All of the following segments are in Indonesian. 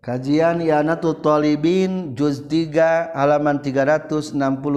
Kajian I'anatul Thalibin juz 3 halaman 363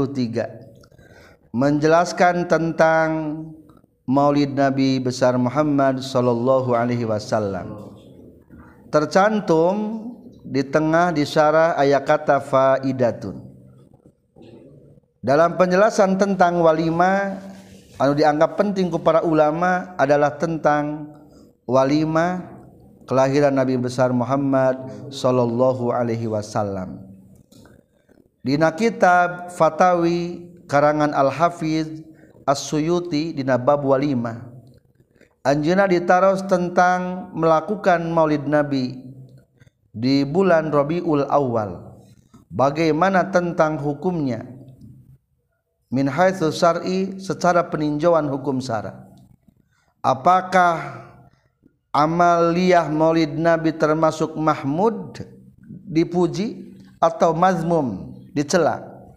menjelaskan tentang Maulid Nabi besar Muhammad sallallahu alaihi wasallam. Tercantum di tengah di syarah ayat kata faidatun. Dalam penjelasan tentang walimah anu dianggap penting ku para ulama adalah tentang walimah kelahiran Nabi besar Muhammad sallallahu alaihi wasallam. Dina kitab Fatawi karangan Al-Hafiz As-Suyuti dina bab walimah anjeunna ditaros tentang melakukan Maulid Nabi di bulan Rabiul Awal. Bagaimana tentang hukumnya min haitsu syar'i secara peninjauan hukum syara. Apakah amaliyah Maulid Nabi termasuk mahmud dipuji atau mazmum dicela,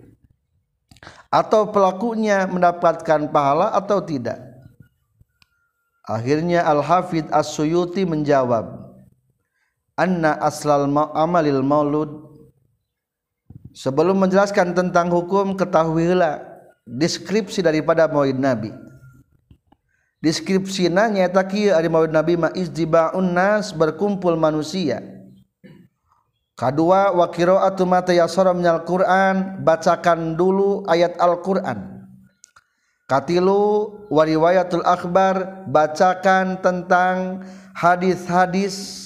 atau pelakunya mendapatkan pahala atau tidak? Akhirnya Al-Hafidz As-Suyuti menjawab, anna aslal amalil maulud. Sebelum menjelaskan tentang hukum, ketahuilah deskripsi daripada Maulid Nabi. Deskripsina nyata kieu ari Maulid Nabi ma izdibaun nas, berkumpul manusia. Kadua wa qiraatu ma tayassara minal Qur'an, bacakan dulu ayat Al-Qur'an. Katilu wa riwayatul akhbar, bacakan tentang hadis-hadis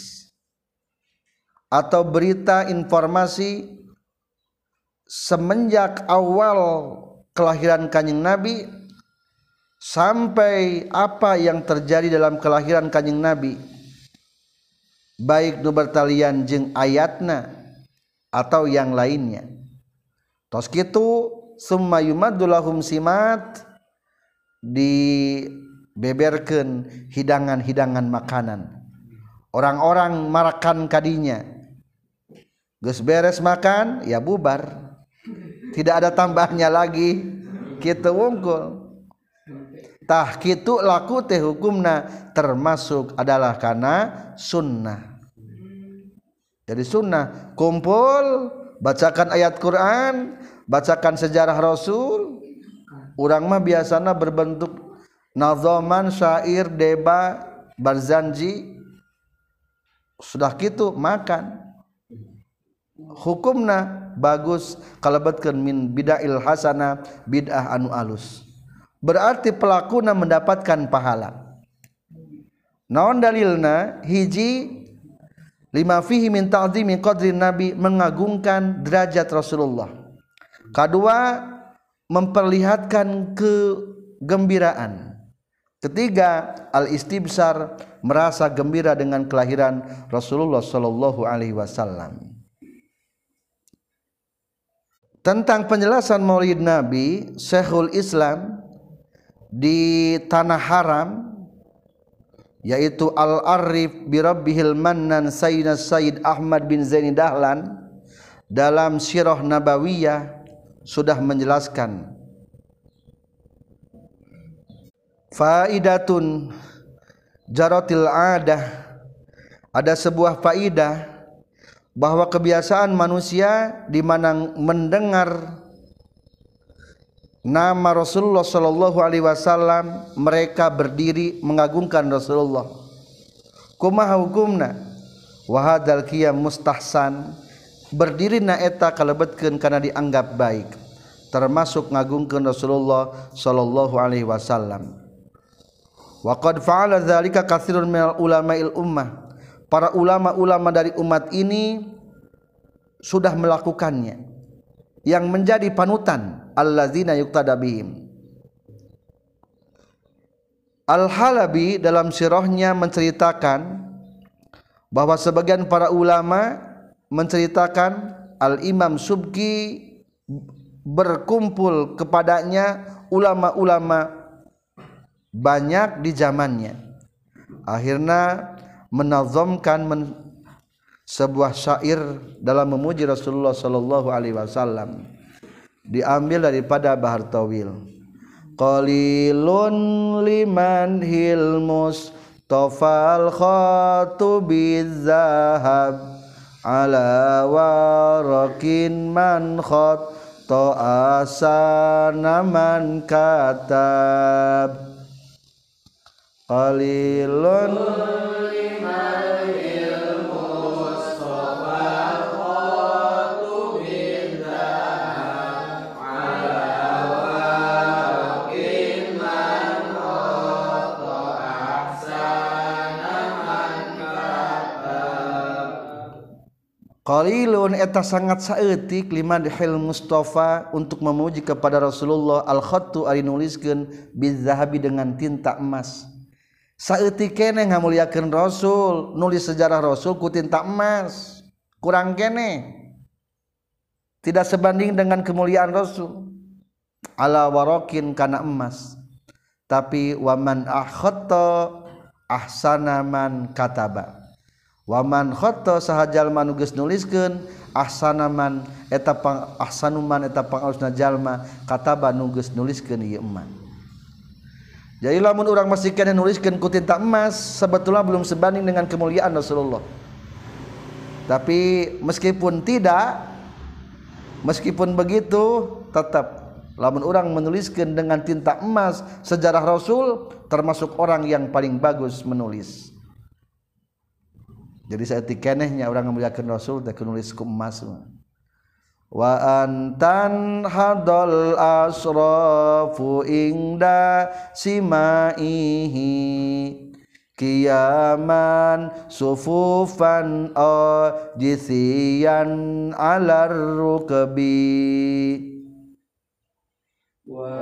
atau berita informasi semenjak awal kelahiran Kanjeng Nabi sampai apa yang terjadi dalam kelahiran Kanjeng Nabi, baik nu bertalian jeung ayatna atau yang lainnya. Tos kitu summa yumaddu lahum simat, dibeberkeun hidangan-hidangan makanan. Orang-orang marakan kadinya. Geus beres makan ya bubar. Tidak ada tambahnya lagi. Kitu wungkul. Tah kitu laku teh hukumna termasuk adalah kana sunnah. Jadi sunnah kumpul, bacakan ayat Quran, bacakan sejarah Rasul. Urang mah biasana berbentuk nazaman, syair, deba, barzanji. Sudah kitu makan. Hukumna bagus kalebetkeun min bid'ahil hasanah, bid'ah anu alus. Berarti pelakuna mendapatkan pahala. Naon dalilna? Hiji, lima fihi min ta'zimi qadri Nabi, mengagungkan derajat Rasulullah. Kedua, memperlihatkan kegembiraan. Ketiga, al-istibsar, merasa gembira dengan kelahiran Rasulullah sallallahu alaihi wasallam. Tentang penjelasan Maulid Nabi, Syekhul Islam di tanah haram, yaitu Al-Arif bi Rabbihil Mannan Sayyidina Sayyid Ahmad bin Zaini Dahlan dalam Sirah Nabawiyah sudah menjelaskan faidatun jaratil adah, ada sebuah faidah bahwa kebiasaan manusia di mana mendengar nama Rasulullah sallallahu alaihi wasallam mereka berdiri mengagungkan Rasulullah. Kumaha hukumna? Wa hadzal qiyam mustahsan, berdiri na eta kalebetkeun kana dianggap baik, termasuk ngagungkeun Rasulullah sallallahu alaihi wasallam. Wa qad fa'ala dzalika katsirun minal ulama'il ummah, para ulama-ulama dari umat ini sudah melakukannya, yang menjadi panutan allazina yuqtada bihim. Al-Halabi dalam sirahnya menceritakan bahwa sebagian para ulama menceritakan Al-Imam Subki berkumpul kepadanya ulama-ulama banyak di zamannya. Akhirnya menazamkan sebuah syair dalam memuji Rasulullah sallallahu alaihi wasallam, diambil daripada Bahar Tawil. Qalilun liman hilmus tofal khatubiz zahab ala warakin man khatta asana man katab qalilun qalilun eta sangat saeutik liman dihil Mustafa untuk memuji kepada Rasulullah al khattu ari nuliskeun bizahabi dengan tinta emas. Saeutik keneh ngamuliakeun Rasul, nulis sejarah Rasul ku tinta emas. Kurang keneh. Tidak sebanding dengan kemuliaan Rasul. Ala warakin kana emas. Tapi waman akhatta ahsana man kataba. Waman khatta sahajal manugeus nuliskeun ahsanaman eta pang ahsanuman eta pangalusna jalma kataba nugeus nuliskeun ieu eman. Jadi lamun urang masih keneh nuliskeun ku tinta emas sebetulnya belum sebanding dengan kemuliaan Rasulullah. Tapi meskipun begitu tetap lamun urang menuliskeun dengan tinta emas sejarah Rasul termasuk orang yang paling bagus menulis. Jadi saeutik kenehnya urang ngamuliakeun Rasul teh nulis ku emas. Wa antan hadal asrafu ingda simaihi kiyaman sufufan jithiyan alar rukbi wa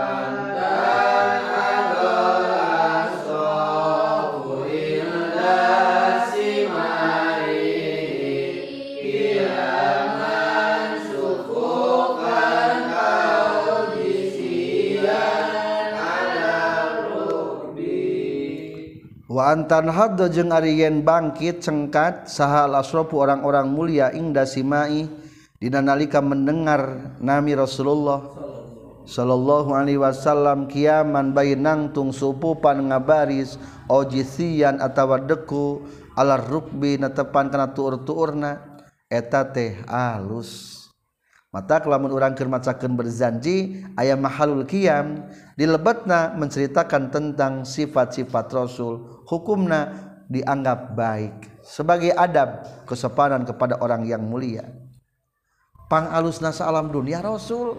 wa antan hadda jeung ari yen bangkit cengkat saha al-asrafu orang-orang mulia ingda simai dina nalika mendengar nami Rasulullah sallallahu alaihi wasallam kiaman bayi nangtung supupan ngabaris ojisian atawa deku alar rukbi netepan kana tuur-tuurna eta teh alus. Mata lamun urang keur macakeun berzanji aya mahalul qiyam di lebetna menceritakan tentang sifat-sifat Rasul, hukumna dianggap baik sebagai adab kesopanan kepada orang yang mulia. Pangalusna saalam dunia Rasul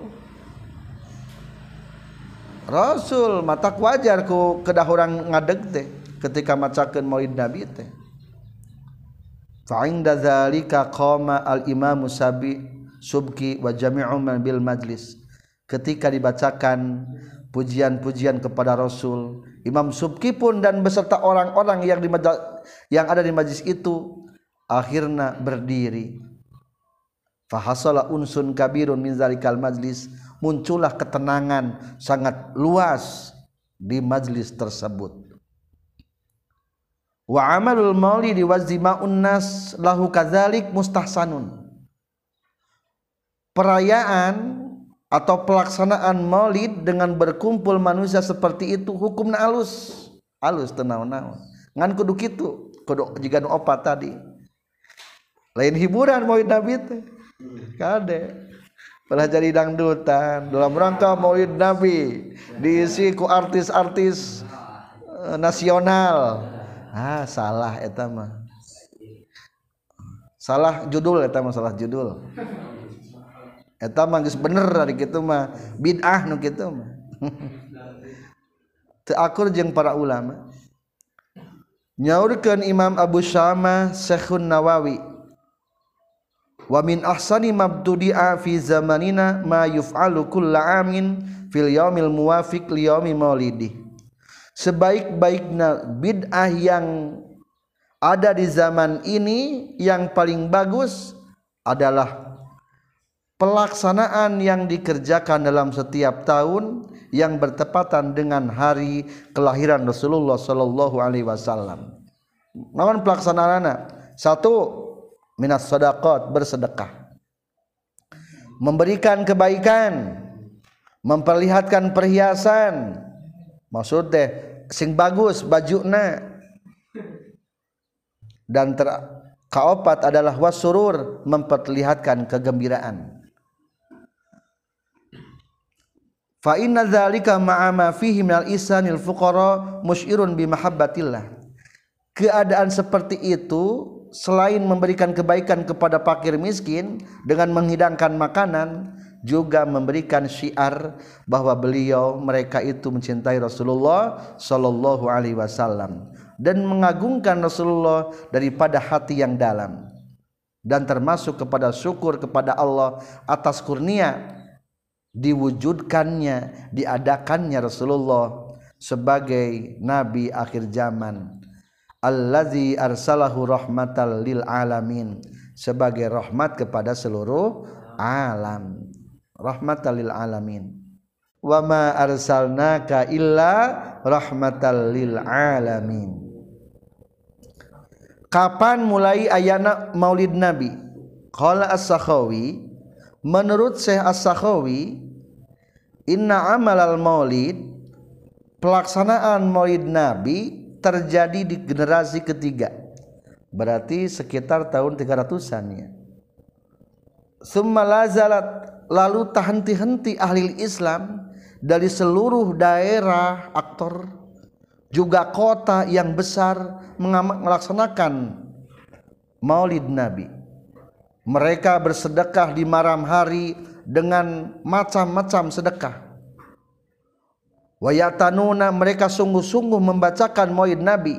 mata wajar ku kedah urang ngadeg teh ketika macakeun maulid Nabi teh. Fa inda zalika qama al-Imam Subki wa jami'u man bil majlis. Ketika dibacakan pujian-pujian kepada Rasul, Imam Subki pun dan beserta orang-orang yang ada di majlis itu akhirnya berdiri. Fa hasala unsun kabirun min zalikal majlis, muncullah ketenangan sangat luas di majlis tersebut. Wa amalul maulidi wa zima'un nas lahu kadzalik mustahsanun. Perayaan atau pelaksanaan maulid dengan berkumpul manusia seperti itu hukumna alus teu naon-naon ngan kudu kitu kudu jiga nu opat tadi lain hiburan maulid Nabi teh kade pernah jadi dangdutan dalam rangka maulid Nabi diisi ku artis-artis nasional salah eta mah salah judul eta mah geus bener ari kitu mah bid'ah nu kitu mah teu akur jeung para ulama. Nyaurkeun Imam Abu Syamah Syekhun Nawawi wa min ahsani mabtudi'a fi zamanina ma yuf'alu kulla amin fil yaumil muwafiq li yaumi maulidi. Sebaik-baiknya bid'ah yang ada di zaman ini yang paling bagus adalah pelaksanaan yang dikerjakan dalam setiap tahun yang bertepatan dengan hari kelahiran Rasulullah sallallahu alaihi wasallam. Naon pelaksanaanna? 1. Minas shadaqat, bersedekah. Memberikan kebaikan, memperlihatkan perhiasan. Maksud teh sing bagus bajuna dan Kaopat adalah wasurur, memperlihatkan kegembiraan. Fa inna dzalika ma'a ma fihi minal ihsanil fuqara musyirun bi mahabbatillah. Keadaan seperti itu selain memberikan kebaikan kepada fakir miskin dengan menghidangkan makanan, juga memberikan syiar bahwa beliau mereka itu mencintai Rasulullah sallallahu alaihi wasallam dan mengagungkan Rasulullah daripada hati yang dalam, dan termasuk kepada syukur kepada Allah atas kurnia diwujudkannya, diadakannya Rasulullah sebagai nabi akhir zaman, allazi arsalahu rahmatal lil alamin, sebagai rahmat kepada seluruh alam, rahmatal lil alamin. Wa ma arsalnaka illa rahmatal lil alamin. Kapan mulai ayana maulid nabi? Qala as-Sakhawi, menurut Syekh as-Sakhawi, inna amalal maulid, pelaksanaan maulid nabi terjadi di generasi ketiga, berarti sekitar tahun 300-an. Summa lazalat, lalu tak henti-henti ahli Islam dari seluruh daerah, aktor juga kota yang besar melaksanakan maulid nabi. Mereka bersedekah di malam hari dengan macam-macam sedekah. Wa yatanuna, mereka sungguh-sungguh membacakan maulid nabi.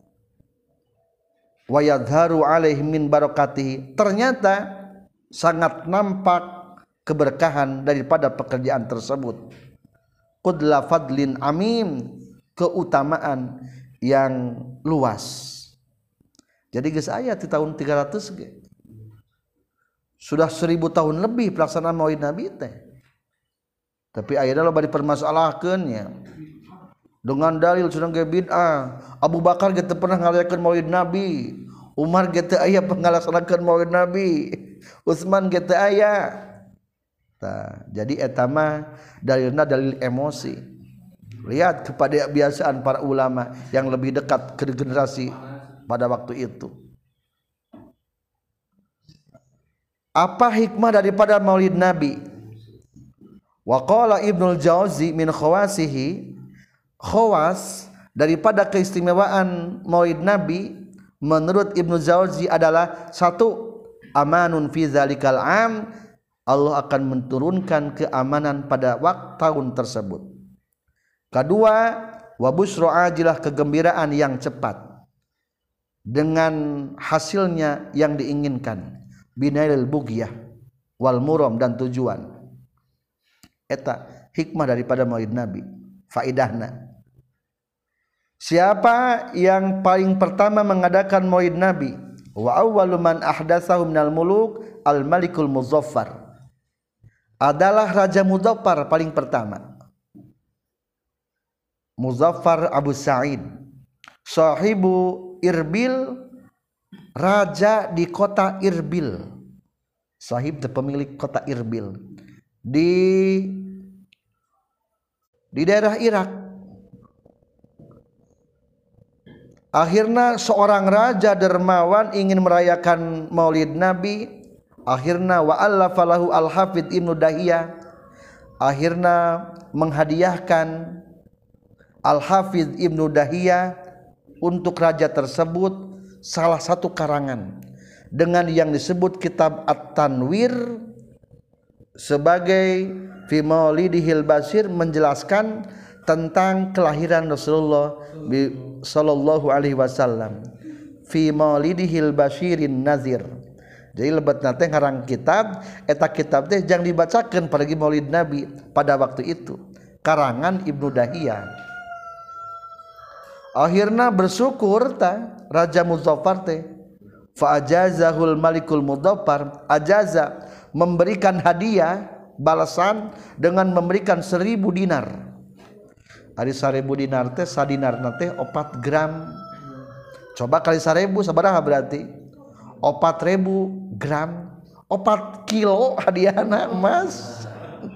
Wa yadharu alaihim min barakatihi, ternyata sangat nampak keberkahan daripada pekerjaan tersebut. Qudla fadlin amim, keutamaan yang luas. Jadi geus aya di tahun 300 ge. Sudah 1000 tahun lebih pelaksanaan maulid nabi teh. Tapi ayeuna loba dipermasalahkeun nya. Dengan dalil sudah ge bid'ah. Abu Bakar ge teu pernah ngalayakeun maulid nabi. Umar ge teu aya pangalaksanakeun maulid nabi. Utsman ge teu aya. Tah, jadi eta mah dalilna dalil emosi. Lihat kepada kebiasaan para ulama yang lebih dekat ke generasi pada waktu itu. Apa hikmah daripada maulid nabi? Wa qala Ibnul Jauzi min khawasihi, khawas daripada keistimewaan maulid nabi menurut Ibnu Jauzi adalah satu, amanun fi zalikal am, Allah akan menurunkan keamanan pada waktu tahun tersebut. Kedua, wa busru ajilah, kegembiraan yang cepat dengan hasilnya yang diinginkan, binailil bughiyah wal muram, dan tujuan. Eta hikmah daripada maulid nabi, faidahna. Siapa yang paling pertama mengadakan maulid nabi? Wa awwalu man ahdatsahu minal muluk al malikul muzaffar, adalah raja Muzaffar paling pertama. Muzaffar Abu Sa'id, sahibu Irbil, raja di kota Irbil. Sahib pemilik kota Irbil di daerah Irak. Akhirnya seorang raja dermawan ingin merayakan maulid nabi. Akhirnya wa allafa lahu al-Hafidz Ibnu Dahiyah, akhirnya menghadiahkan Al-Hafidz Ibnu Dahiyah untuk raja tersebut salah satu karangan dengan yang disebut kitab At-Tanwir sebagai fi maulidihil basir, menjelaskan tentang kelahiran Rasulullah sallallahu alaihi wasallam, fi maulidihil basyirin nazir. Jadi lebat nate ngarang kitab, eta kitab teh jang dibacakeun pada maulid nabi pada waktu itu, karangan Ibnu Dahiyah. Akhirnya bersyukur ta Raja Muzaffar teh, fa ajazahul malikul Muzaffar, ajaza, memberikan hadiah balasan dengan memberikan 1000 dinar. Ari 1000 dinar teh sadinar teh 4 gram. Coba kali 1000 sabaraha berarti? 4000 gram, 4 kilo hadiahna emas.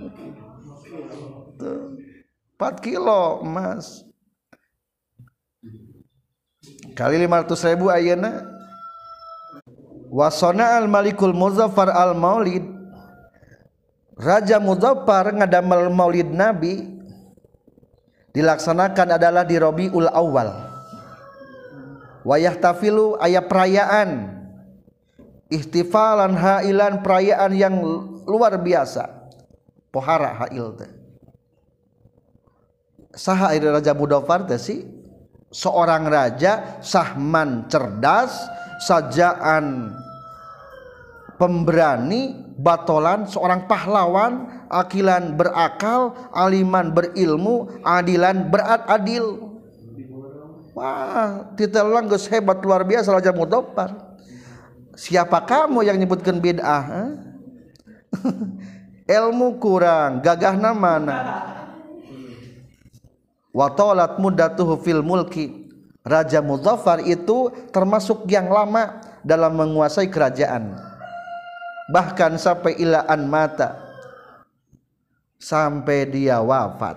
4 kilo emas kali 500.000 ayeuna Wa sana'al malikul muzaffar al maulid, Raja Muzaffar ngadamel maulid Nabi dilaksanakan adalah di Rabiul Awal. Wa yahtafilu aya perayaan ihtifalan hailan, perayaan yang luar biasa, pohara hail teh. Saha iri Raja Muzaffar teh sih? Seorang raja sahman, cerdas, sajaan, pemberani, batolan, seorang pahlawan, akilan berakal, aliman berilmu, adilan beradil. Wah, titel orang geus hebat luar biasa Raja Muzaffar. Siapa kamu yang nyebutkan bid'ah? Ilmu kurang, gagahna mana? Wa talat muddatuhu fil mulki, Raja Muzaffar itu termasuk yang lama dalam menguasai kerajaan, bahkan sampai ilaan mata, sampai dia wafat.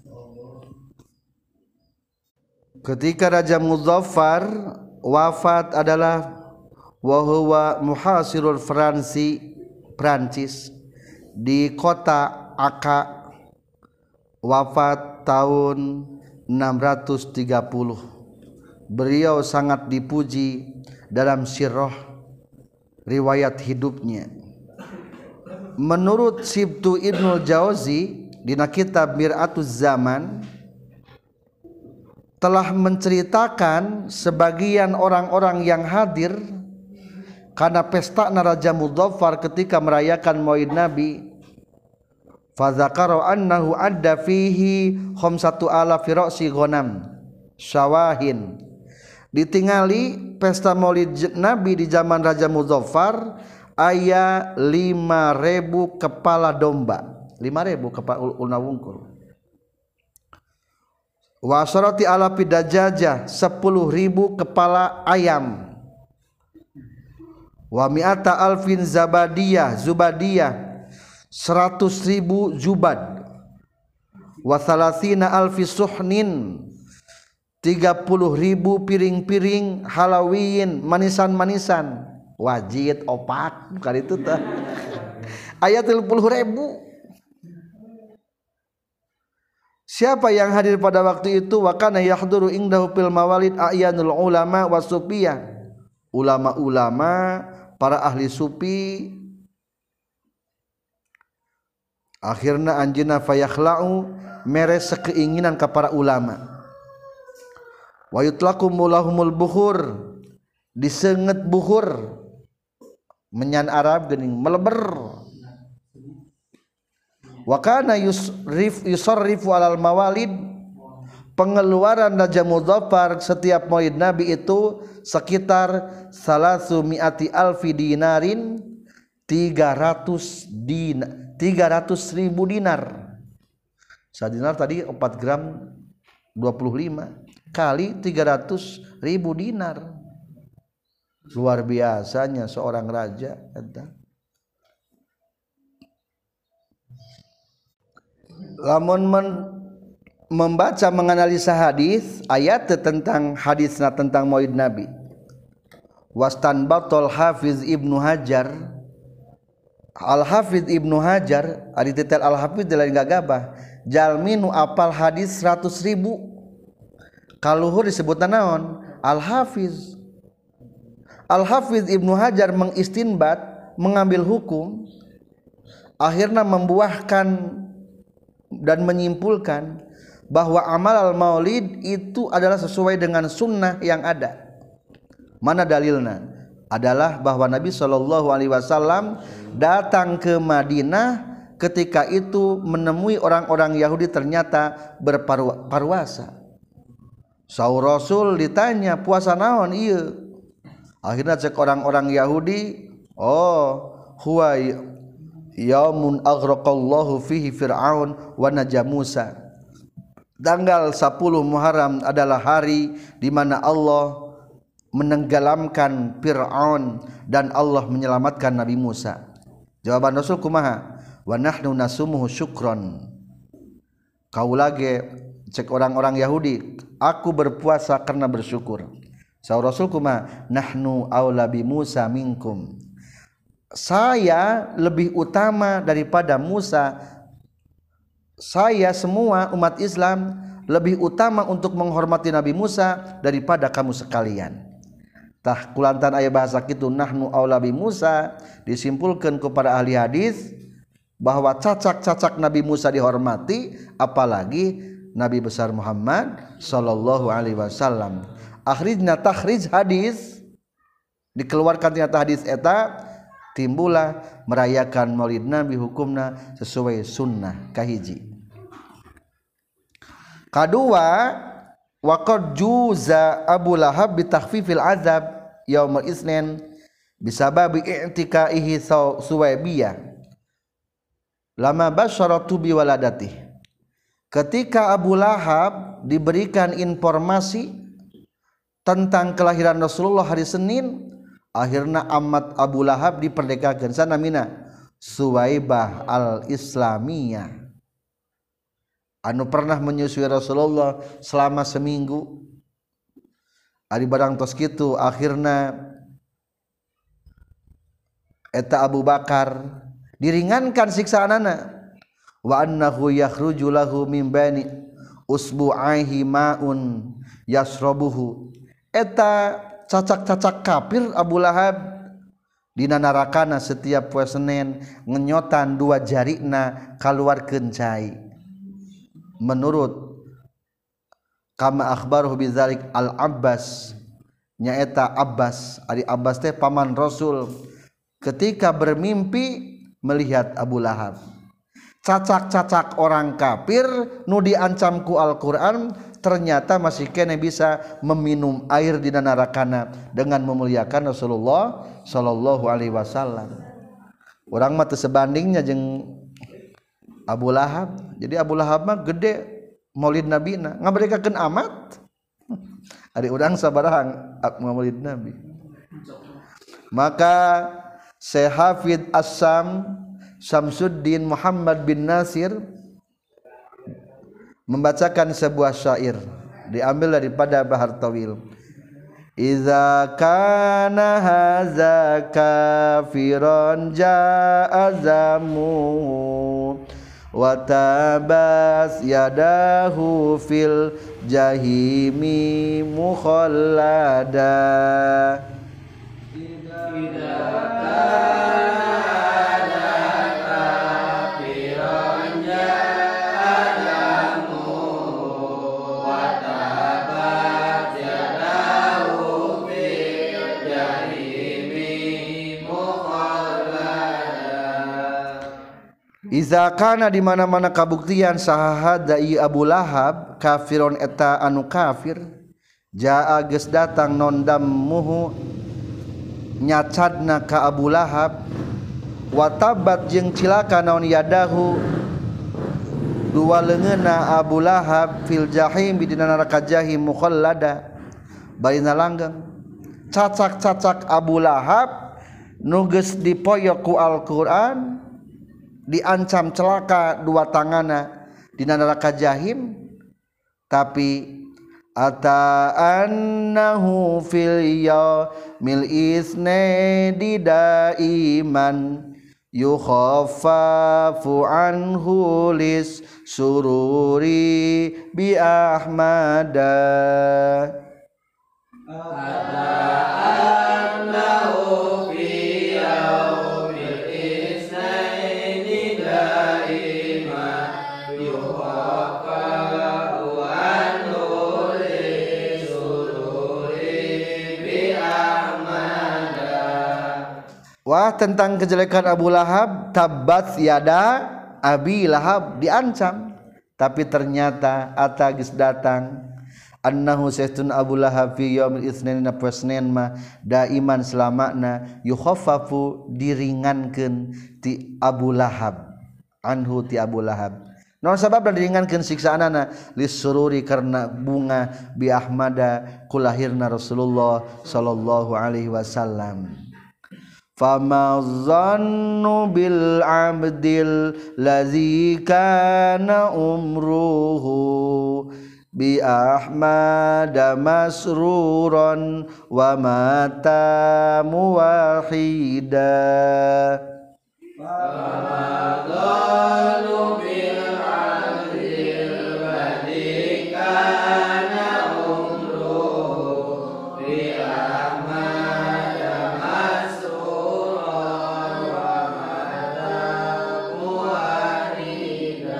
Ketika Raja Muzaffar wafat adalah wa huwa muhasirul Prancis di kota Akka, wafat tahun 630. Beliau sangat dipuji dalam sirah riwayat hidupnya. Menurut Sibtu Ibnul Jauzi dina kitab Mir'atuz Zaman telah menceritakan sebagian orang-orang yang hadir karena pesta Raja Muzaffar ketika merayakan Maulid Nabi. Fadzakara annahu adda fihi 5,000 ra'si ghanam syawahin. Ditingali pesta Maulid Nabi di zaman Raja Muzaffar aya 5.000 kepala domba, 5.000 kepala ulna wungkul. Wa asharati alafi dajajah, 10.000 kepala ayam. Wa mi'ata alfin zubadiyah, 100.000 jubad. Wa thalathina alfi suhnin, 30.000 piring-piring halawiyin, manisan-manisan, wajid opak bukan itu tah. Aya 30.000. Siapa yang hadir pada waktu itu? Wa kana yahduru indahu fil mawalid a'yanul ulama wasufiyah, ulama-ulama, para ahli sufi. Akhirna anjeunna fayakhla'u mere sekeinginan ka para ulama. Wa yutlaqu mulahumul bukhur, diseungeut bukhur, menyan Arab geuning meleber. Wa kana yusarrifu alal mawalid, pengeluaran Raja Muzaffar setiap Maulid Nabi itu sekitar 300 alfi dinarin, 300.000 dinar. Sadinar tadi 4 gram 25 kali 300.000 dinar. Luar biasanya seorang raja. Lamun membaca menganalisa hadis ayat tentang hadisna tentang Maulid Nabi. Wastanbatul Hafiz Ibnu Hajar, Al-Hafiz Ibnu Hajar ari titel Al-Hafiz lain gagabah, jalminu apal hadis 100.000. Kaluhur disebutna naon? Al-Hafiz. Al-Hafiz Ibnu Hajar mengistinbat, mengambil hukum, akhirnya membuahkan dan menyimpulkan bahwa amal al-maulid itu adalah sesuai dengan sunnah yang ada. Mana dalilnya? Adalah bahwa Nabi SAW datang ke Madinah, ketika itu menemui orang-orang Yahudi ternyata berpuasa. Saur Rasul ditanya, puasa naon ieu? Akhirnya cek orang-orang Yahudi, oh huwa yaumun aghraqallahu fihi fir'aun wa naja Musa. Tanggal 10 Muharram adalah hari di mana Allah menenggelamkan Fir'aun dan Allah menyelamatkan Nabi Musa. Jawaban Rasul kumaha? Wa nahnu nasumuhu syukron. Kau lagi cek orang-orang Yahudi, aku berpuasa karena bersyukur. saur Rasul kumaha nahnu aula bi Musa minkum, saya lebih utama daripada Musa, saya semua umat Islam lebih utama untuk menghormati Nabi Musa daripada kamu sekalian. Tah kulantan aya bahasa kitu nahnu aula bi Musa disimpulkeun ku para ahli hadis bahwa cacak-cacak Nabi Musa dihormati, apalagi Nabi besar Muhammad sallallahu alaihi wasallam. Akhrijna takhrij hadis dikeluarkan tina hadis eta timbullah merayakan Maulid Nabi hukumna sesuai sunnah kahiji. Kadua waqad juza Abu Lahab bi takhfifil azab yaumul isnin bisababi i'tikaihi Suwaybiyah lama basyaratu bi waladatih. Ketika Abu Lahab diberikan informasi tentang kelahiran Rasulullah hari Senin, akhirna amat Abu Lahab diperdekakeun sanamina Suwaybah al-Islamiyah anu pernah menyusui Rasulullah selama seminggu. Ari barang tos kitu akhirna eta Abu Bakar diringankan siksaanana, wa annahu yakhruju lahu min bani usbu'aihi ma'un yasrabuhu. Eta cacak-cacak kafir Abu Lahab dina narakana setiap poe Senin ngenyotan dua jarina kaluarkeun cai. Menurut kama akhbaruhu bidzalik al-Abbas, nyaeta Abbas, ari Abbas teh paman Rasul, ketika bermimpi melihat Abu Lahab. Cacak-cacak orang kafir nu diancam ku Al-Qur'an ternyata masih kene bisa meminum air di narakana dengan memuliakan Rasulullah sallallahu alaihi wasallam. Urang mah teu sebandingnya jeung Abu Lahab. Jadi Abu Lahab mah gede Maulid Nabi na ngaberdekakeun amat. Ari urang sabaraha Maulid Nabi. Maka Syekh Hafidz As-Sam Syamsuddin Muhammad bin Nasir membacakan sebuah syair diambil daripada Bahar Tawil. Iza kana haza kafiran ja'azamu wa tabas yadahu fil jahimi mukhallada. Iza kana di mana-mana kabuktian sahahada ieu Abu Lahab kafiron eta anu kafir, jaa geus datang non dammuhu nyacadna ka Abu Lahab, wa tabat jeung cilaka naon yadahu dua leungeunna Abu Lahab fil jahim di neraka jahim mukhallada barina langgeng. Cacak-cacak Abu Lahab nu geus dipoyok ku Al-Qur'an diancam celaka dua tangana di neraka jahim, tapi ata annahu fil yaumil isnadi daiman yukhaffafu anhu lis sururi bi ahmada. Ata annahu fi yaumil isnadi daiman yukhaffafu anhu lis sururi bi ahmada. Wah, tentang kejelekan Abu Lahab, tabat yada Abi Lahab diancam, tapi ternyata ata geus datang annahu sayyidun Abu Lahab fi yaumil itsnain na Senin mah daiman selamana yukhaffafu diringankeun ti Abu Lahab anhu ti Abu Lahab. Naon sabab diringankeun siksaanana lisururi karena bunga bi ahmada kulahirna Rasulullah sallallahu alaihi wasallam. Fama zannu bil abdil ladzi kana umruhu bi Ahmad masruran wa mata muwahida Ramadhanu bil adil badikana umruh bi Ahmad masruran wa mata muwahida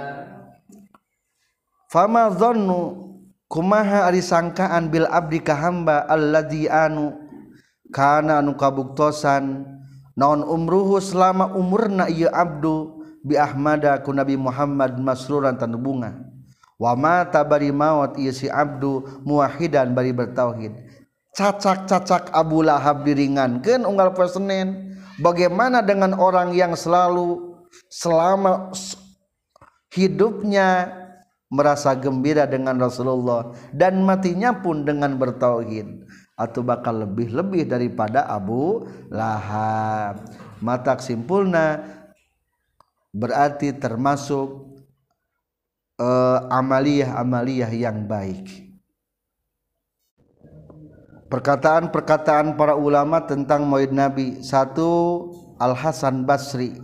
Fama dhannu kumaha ari sangkaan bil abdi ka hamba alladzi anu kana anu kabuktosan naon umruhu selama umurna ieu abdu bi Ahmada ku Nabi Muhammad masruran tanu bunga wa mata bari maut ieu si abdu muwahhidan bari bertauhid cacak-cacak Abu Lahab diringankeun unggal poe Senin bagaimana dengan orang yang selama hidupnya merasa gembira dengan Rasulullah dan matinya pun dengan bertauhid atau bakal lebih-lebih daripada Abu Lahab. Mata simpulna berarti termasuk amaliyah-amaliyah yang baik. Perkataan-perkataan para ulama tentang Maulid Nabi. 1. Al-Hasan Basri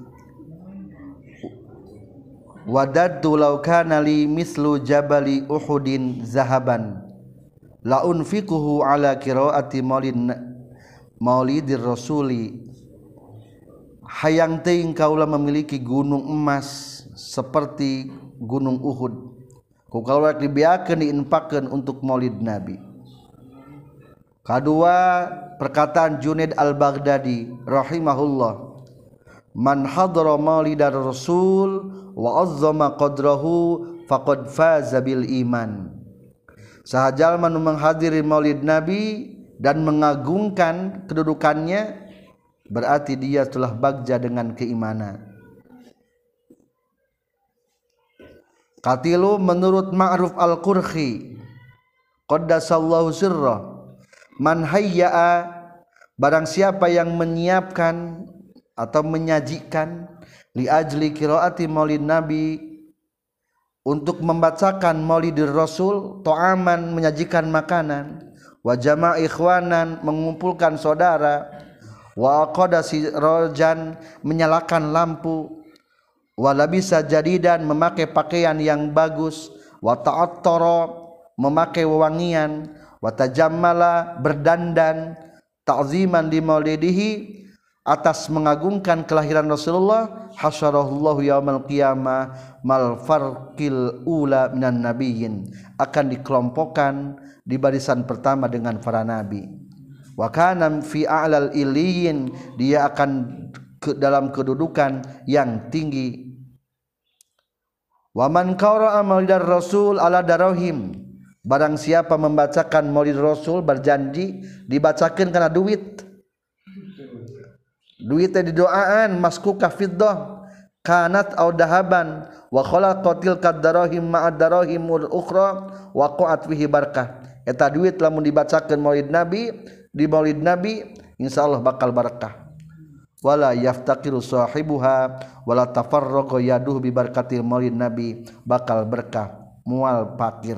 Wadadtu law kana li mislu jabali Uhudin zahaban la unfiquhu ala qiraati maulidir rasuli hayang teuing kaula memiliki gunung emas seperti gunung Uhud ku kaula dibiakeun diinfakkeun untuk maulid Nabi. Kedua perkataan Junaid al-Baghdadi rahimahullah man hadara maulidar rasul wa azzama qadrahu faqad faza bil iman. Sahaja jalma nu menghadiri maulid Nabi dan mengagungkan kedudukannya berarti dia telah bagja dengan keimanan. Katilu menurut Ma'ruf al-Qurhi qaddasallahu sirra man hayya'a barang siapa yang menyiapkan atau menyajikan li ajli qiraati maulid Nabi untuk membacakan maulidir Rasul to'aman menyajikan makanan wa jama' ikhwanan mengumpulkan saudara wa aqada sirajan menyalakan lampu wa labisa jadidan memakai pakaian yang bagus wa ta'attara memakai wewangian wa tajammala berdandan ta'ziman li maulidihi atas mengagungkan kelahiran Rasulullah hasyarahullahu yaumal qiyamah mal farqil ula minan nabiyyin akan dikelompokkan di barisan pertama dengan para nabi wa kana fi a'lal illiyin dia akan dalam kedudukan yang tinggi wa man qara'a maulidar rasul ala darahim barang siapa membacakan maulid Rasul berjanji dibacakeun kana duit duitnya didoaan maskuka fiddah kanat au dahaban wa khalaqatil kadarahim ma'ad darahimul ukhra wa qa'at fihi barakah eta duit lamun dibacakeun maulid Nabi di maulid Nabi insyaallah bakal barakah wala yaftaqiru sahibuha wala tafarraqa yaduh bi barakatil maulid Nabi bakal berkah mual fakir.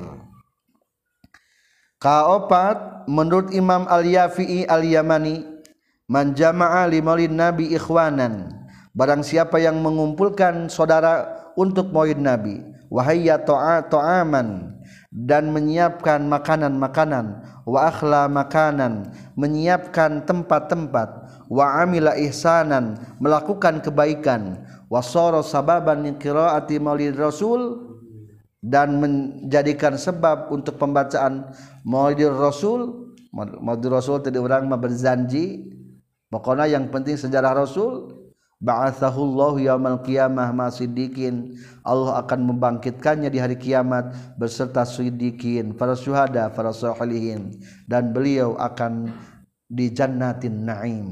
Kaopat menurut Imam Al-Yafi'i Al-Yamani man jama'a li maulid Nabi ikhwanan barang siapa yang mengumpulkan saudara untuk maulid Nabi wahayya ta'aman dan menyiapkan makanan-makanan wa akhla makanan menyiapkan tempat-tempat wa amila ihsanan melakukan kebaikan wa sara sababan li qiraati maulid Rasul dan menjadikan sebab untuk pembacaan maulid Rasul. Maulid Rasul tadi orang mah berjanji pokoknya yang penting sejarah Rasul ba'atsahullahu yaumal qiyamah ma siddiqin Allah akan membangkitkannya di hari kiamat beserta siddiqin para syuhada para sholihin dan beliau akan di jannatin na'im.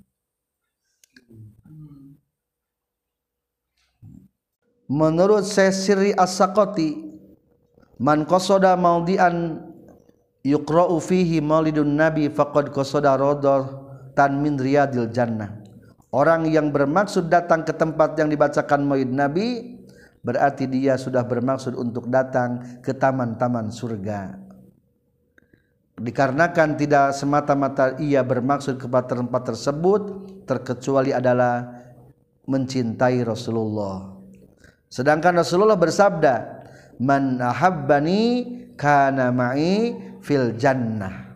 Menurut Sesiri As-Saqati man qasada maudian yuqra'u fihi maulidun nabi faqad qasada radatan min riyadil jannah. Orang yang bermaksud datang ke tempat yang dibacakan maulid Nabi berarti dia sudah bermaksud untuk datang ke taman-taman surga. Dikarenakan tidak semata-mata ia bermaksud kepada tempat tersebut, terkecuali adalah mencintai Rasulullah. Sedangkan Rasulullah bersabda, "Man ahabbani kana ma'i fil jannah."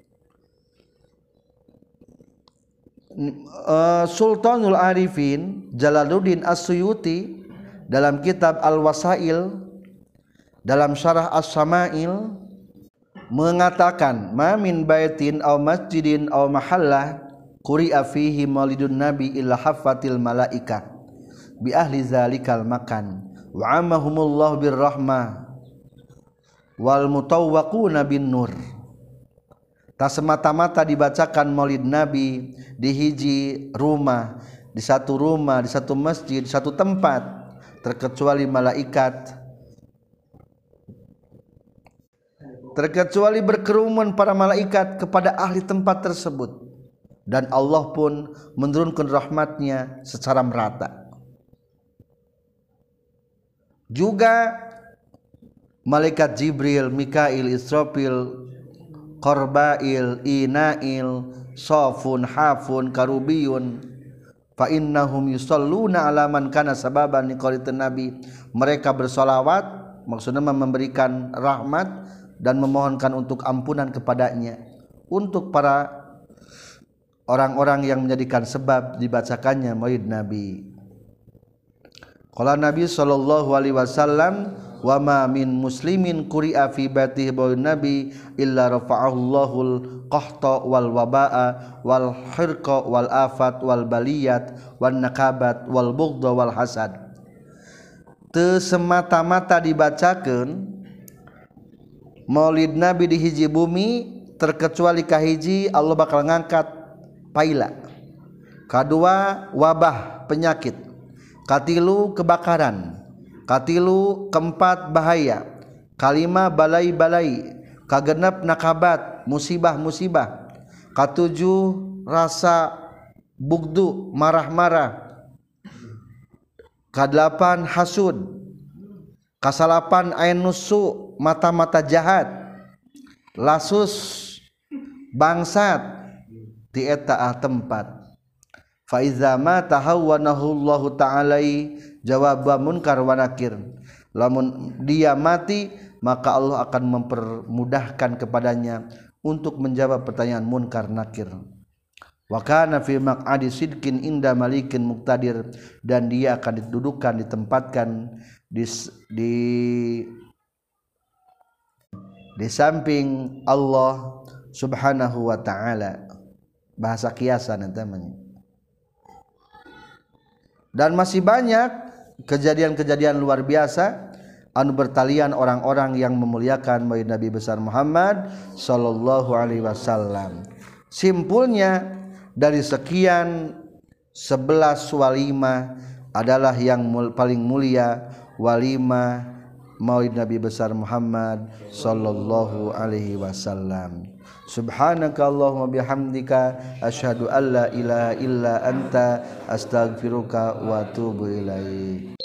Sultanul Arifin Jalaluddin As-Suyuti dalam kitab Al-Wasail dalam syarah As-Samail mengatakan, "Ma min baitin aw masjidin aw mahallah quri'a fihi maulidun nabi illa haffatil malaikah bi ahli zalikal makan wa amahumullahu birrahmah wal mutawwaquna bin nur." Tak semata-mata dibacakan maulid Nabi di hiji rumah, di satu masjid, di satu tempat, terkecuali berkerumun para malaikat kepada ahli tempat tersebut, dan Allah pun menurunkan rahmatnya secara merata. Juga malaikat Jibril, Mikail, Israfil, Qarbail, Inail, Safun, Hafun, Karubiyun, fa innahum yusalluna ala man kana sababan liqalitin nabi. Mereka bersolawat, maksudnya memberikan rahmat dan memohonkan untuk ampunan kepadanya, untuk para orang-orang yang menjadikan sebab dibacakannya maulid Nabi. Qala Nabi sallallahu alaihi wasallam, "Wa ma min muslimin quri'a fi baitihi maulid Nabi illa rafa'ahullahul qahta wal waba'a wal hirqa wal afat wal baliyat wan nakabat wal bughdha wal hasad." Teu semata-mata dibacakeun maulid Nabi di hiji bumi, terkecuali kahiji Allah bakal ngangkat paila, kadua wabah penyakit, katilu kebakaran, katilu keempat bahaya, kalima balai-balai, kagenep nakabat musibah-musibah, katujuh rasa bugdu marah-marah, kadelapan hasud, kasalapan ain nusu mata-mata jahat, lasus bangsat ti eta tempat. Fa iza ma tahawwanahu Allah taala jawab munkar wa nakir. Lamun dia mati, maka Allah akan mempermudahkan kepadanya untuk menjawab pertanyaan munkar nakir. Wa kana fi maq'adi sidqin inda malikin muqtadir, dan dia akan didudukan, ditempatkan di samping Allah Subhanahu wa taala. Bahasa kiasan namanya. Dan masih banyak kejadian-kejadian luar biasa anu bertalian orang-orang yang memuliakan maulid Nabi besar Muhammad sallallahu alaihi wasallam. Simpulnya, dari sekian 11 walimah adalah yang paling mulia walimah maulid Nabi besar Muhammad sallallahu alaihi wasallam. Subhanaka Allahumma bihamdika asyhadu an la ilaha illa anta astaghfiruka wa atubu ilaik.